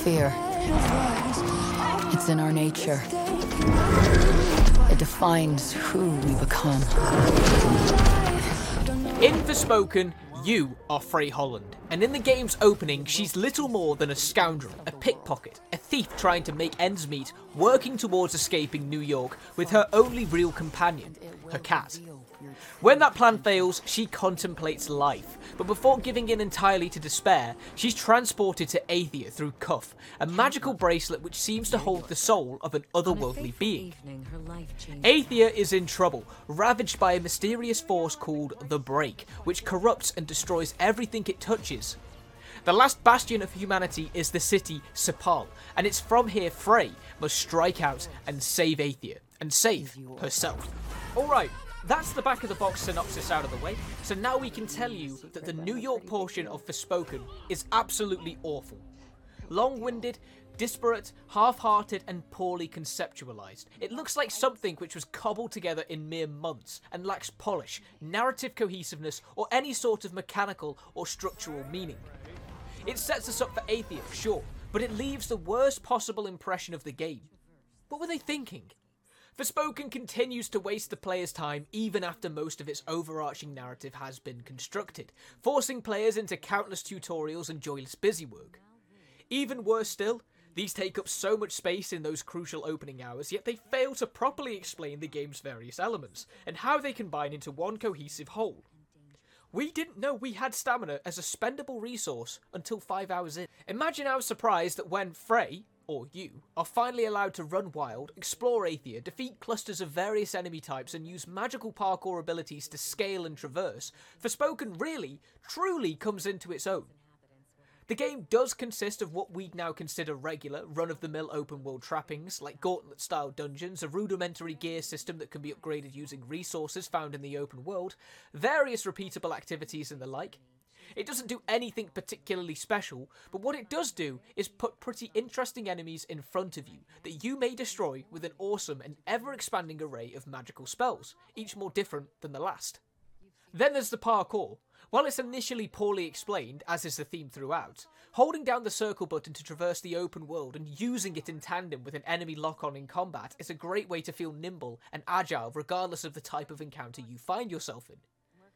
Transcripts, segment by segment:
Fear. It's in our nature. It defines who we become. In Forspoken, you are Frey Holland, and in the game's opening, she's little more than a scoundrel, a pickpocket, a thief trying to make ends meet, working towards escaping New York with her only real companion, her cat. When that plan fails, she contemplates life, but before giving in entirely to despair, she's transported to Aethia through Cuff, a magical bracelet which seems to hold the soul of an otherworldly being. Aethia is in trouble, ravaged by a mysterious force called the Break, which corrupts and destroys everything it touches. The last bastion of humanity is the city Cipal, and it's from here Frey must strike out and save Aethia, and save herself. Alright, that's the back of the box synopsis out of the way, so now we can tell you that the New York portion of Forspoken is absolutely awful. Long-winded, disparate, half-hearted and poorly conceptualised. It looks like something which was cobbled together in mere months and lacks polish, narrative cohesiveness or any sort of mechanical or structural meaning. It sets us up for Aethia, sure, but it leaves the worst possible impression of the game. What were they thinking? Forspoken continues to waste the player's time even after most of its overarching narrative has been constructed, forcing players into countless tutorials and joyless busywork. Even worse still, these take up so much space in those crucial opening hours, yet they fail to properly explain the game's various elements, and how they combine into one cohesive whole. We didn't know we had stamina as a spendable resource until 5 hours in. Imagine our surprise that when Frey, or you, are finally allowed to run wild, explore Aethia, defeat clusters of various enemy types and use magical parkour abilities to scale and traverse, Forspoken really, truly comes into its own. The game does consist of what we'd now consider regular, run-of-the-mill open-world trappings, like Gauntlet-style dungeons, a rudimentary gear system that can be upgraded using resources found in the open world, various repeatable activities and the like. It doesn't do anything particularly special, but what it does do is put pretty interesting enemies in front of you that you may destroy with an awesome and ever-expanding array of magical spells, each more different than the last. Then there's the parkour. While it's initially poorly explained, as is the theme throughout, holding down the circle button to traverse the open world and using it in tandem with an enemy lock-on in combat is a great way to feel nimble and agile regardless of the type of encounter you find yourself in.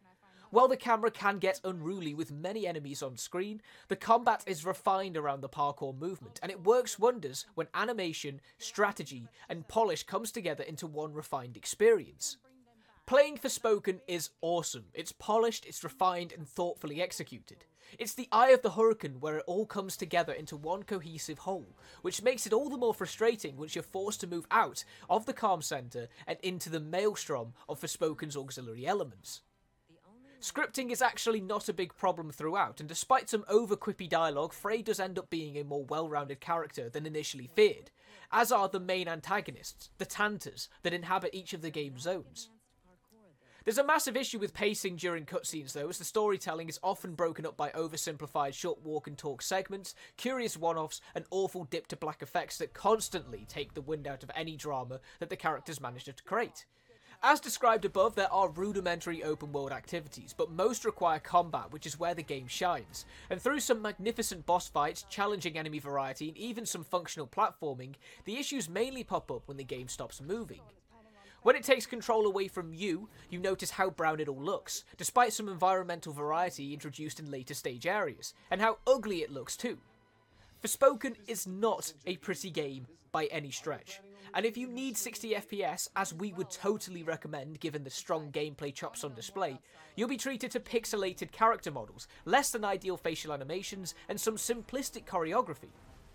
While the camera can get unruly with many enemies on screen, the combat is refined around the parkour movement, and it works wonders when animation, strategy, and polish comes together into one refined experience. Playing Forspoken is awesome. It's polished, it's refined, and thoughtfully executed. It's the Eye of the Hurricane where it all comes together into one cohesive whole, which makes it all the more frustrating once you're forced to move out of the calm centre and into the maelstrom of Forspoken's auxiliary elements. Scripting is actually not a big problem throughout, and despite some over-quippy dialogue, Frey does end up being a more well-rounded character than initially feared, as are the main antagonists, the Tanters, that inhabit each of the game's zones. There's a massive issue with pacing during cutscenes though, as the storytelling is often broken up by oversimplified short walk and talk segments, curious one-offs, and awful dip-to-black effects that constantly take the wind out of any drama that the characters manage to create. As described above, there are rudimentary open-world activities, but most require combat, which is where the game shines. And through some magnificent boss fights, challenging enemy variety, and even some functional platforming, the issues mainly pop up when the game stops moving. When it takes control away from you, you notice how brown it all looks, despite some environmental variety introduced in later stage areas, and how ugly it looks too. Forspoken is not a pretty game by any stretch, and if you need 60 FPS, as we would totally recommend given the strong gameplay chops on display, you'll be treated to pixelated character models, less than ideal facial animations, and some simplistic choreography.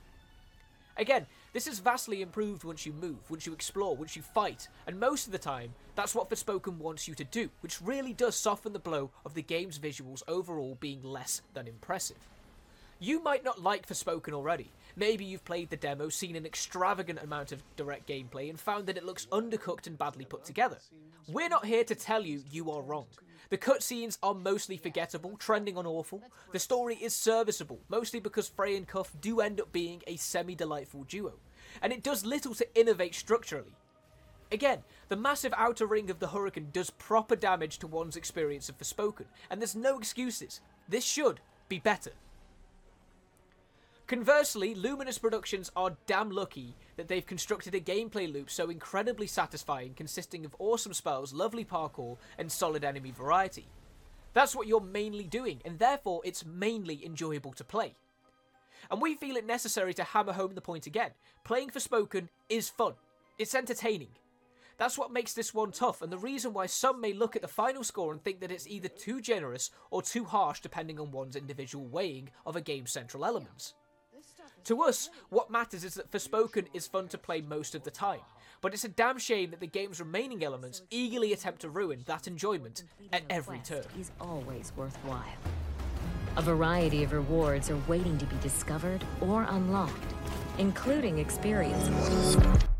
Again, this is vastly improved once you move, once you explore, once you fight, and most of the time, that's what Forspoken wants you to do, which really does soften the blow of the game's visuals overall being less than impressive. You might not like Forspoken already. Maybe you've played the demo, seen an extravagant amount of direct gameplay, and found that it looks undercooked and badly put together. We're not here to tell you you are wrong. The cutscenes are mostly forgettable, trending on awful. The story is serviceable, mostly because Frey and Cuff do end up being a semi-delightful duo, and it does little to innovate structurally. Again, the massive outer ring of the Hurricane does proper damage to one's experience of Forspoken, and there's no excuses. This should be better. Conversely, Luminous Productions are damn lucky that they've constructed a gameplay loop so incredibly satisfying, consisting of awesome spells, lovely parkour, and solid enemy variety. That's what you're mainly doing, and therefore it's mainly enjoyable to play. And we feel it necessary to hammer home the point again. Playing Forspoken is fun. It's entertaining. That's what makes this one tough, and the reason why some may look at the final score and think that it's either too generous or too harsh depending on one's individual weighing of a game's central elements. To us, what matters is that Forspoken is fun to play most of the time, but it's a damn shame that the game's remaining elements eagerly attempt to ruin that enjoyment at every turn. Is always worthwhile. A variety of rewards are waiting to be discovered or unlocked, including experience points.